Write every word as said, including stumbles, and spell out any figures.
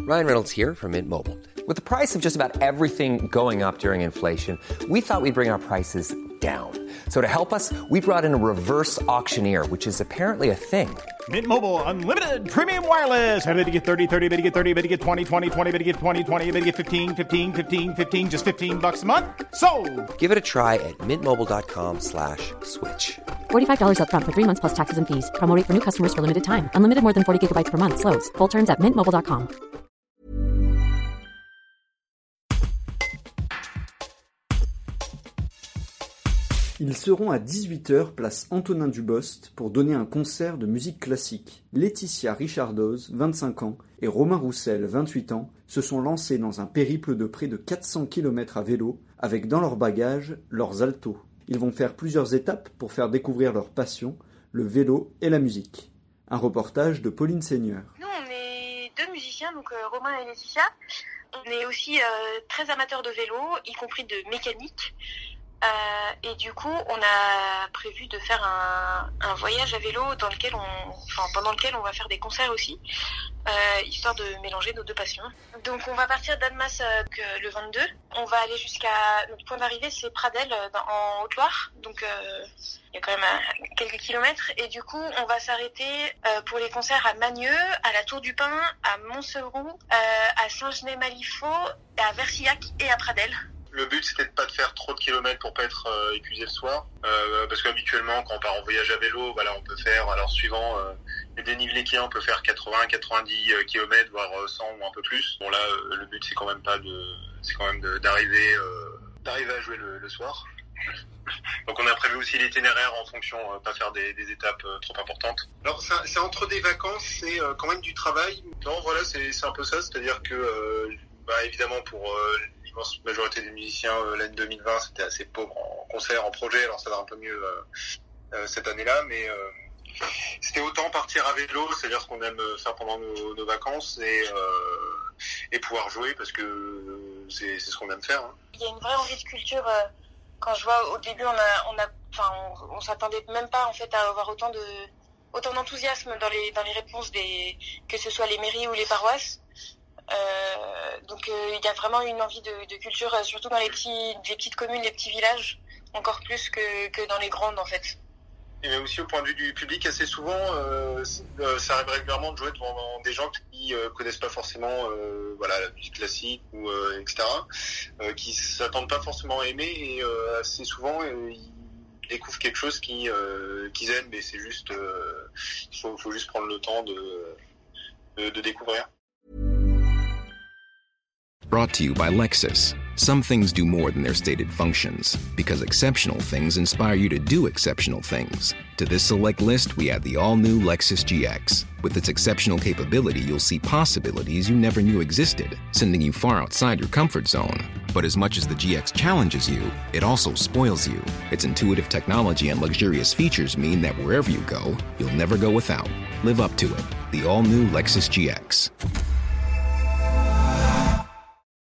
Ryan Reynolds here from Mint Mobile. With the price of just about everything going up during inflation, we thought we'd bring our prices down. So to help us, we brought in a reverse auctioneer, which is apparently a thing. Mint Mobile Unlimited Premium Wireless. How to get thirty, thirty, how to get thirty, how to get twenty, twenty, twenty, how to get twenty, twenty, how to get fifteen, fifteen, fifteen, fifteen, just fifteen bucks a month? Sold! Give it a try at mintmobile.com slash switch. forty-five dollars up front for three months plus taxes and fees. Promo rate for new customers for limited time. Unlimited more than forty gigabytes per month. Slows full terms at mint mobile dot com. Ils seront à dix-huit heures place Antonin Dubost pour donner un concert de musique classique. Laetitia Richardoz, vingt-cinq ans, et Romain Roussel, vingt-huit ans, se sont lancés dans un périple de près de quatre cents kilomètres à vélo, avec dans leur bagage leurs altos. Ils vont faire plusieurs étapes pour faire découvrir leur passion, le vélo et la musique. Un reportage de Pauline Seigneur. Nous, on est deux musiciens, donc euh, Romain et Laetitia. On est aussi euh, très amateurs de vélo, y compris de mécanique. Euh, et du coup, on a prévu de faire un, un voyage à vélo dans lequel on, enfin, pendant lequel on va faire des concerts aussi, euh, histoire de mélanger nos deux passions. Donc, on va partir d'Annemasse euh, le vingt-deux. On va aller jusqu'à notre point d'arrivée, c'est Pradelles dans, en Haute-Loire. Donc, euh, il y a quand même euh, quelques kilomètres. Et du coup, on va s'arrêter euh, pour les concerts à Magneux, à la Tour du Pin, à Montseroux, euh, à Saint-Genès-Malifaux, à Versillac et à Pradelles. Le but, c'était de pas de faire trop de kilomètres pour pas être euh, épuisé le soir, euh, parce qu'habituellement, quand on part en voyage à vélo, voilà, on peut faire, alors suivant euh, les dénivelés qu'il y a, on peut faire quatre-vingts, quatre-vingt-dix kilomètres, voire cent ou un peu plus. Bon là, euh, le but, c'est quand même pas de, c'est quand même de, d'arriver, euh, d'arriver à jouer le, le soir. Donc on a prévu aussi l'itinéraire en fonction, euh, pas faire des, des étapes euh, trop importantes. Alors c'est, c'est entre des vacances, c'est euh, quand même du travail. Non, voilà, c'est, c'est un peu ça, c'est-à-dire que, euh, bah évidemment pour euh, la majorité des musiciens, euh, l'année deux mille vingt, c'était assez pauvre en concert, en projet, alors ça va un peu mieux euh, euh, cette année-là, mais euh, c'était autant partir à vélo, c'est-à-dire ce qu'on aime faire pendant nos, nos vacances, et, euh, et pouvoir jouer, parce que euh, c'est, c'est ce qu'on aime faire. Hein. Il y a une vraie envie de culture, euh, quand je vois au début, on a, on a, enfin, on, on s'attendait même pas en fait à avoir autant de, autant d'enthousiasme dans les, dans les réponses des, que ce soit les mairies ou les paroisses. Euh, donc il euh, y a vraiment une envie de, de culture, euh, surtout dans les petits, les petites communes, les petits villages, encore plus que, que dans les grandes en fait. Et mais aussi au point de vue du public, assez souvent, euh, euh, ça arrive régulièrement de jouer devant des gens qui euh, connaissent pas forcément, euh, voilà, la musique classique ou euh, et cetera, euh, qui s'attendent pas forcément à aimer, et euh, assez souvent euh, ils découvrent quelque chose qui euh, qu'ils aiment, mais c'est juste, euh, il faut, faut juste prendre le temps de de, de découvrir. Brought to you by Lexus. Some things do more than their stated functions, because exceptional things inspire you to do exceptional things. To this select list, we add the all-new Lexus G X. With its exceptional capability, you'll see possibilities you never knew existed, sending you far outside your comfort zone. But as much as the G X challenges you, it also spoils you. Its intuitive technology and luxurious features mean that wherever you go, you'll never go without. Live up to it. The all-new Lexus G X.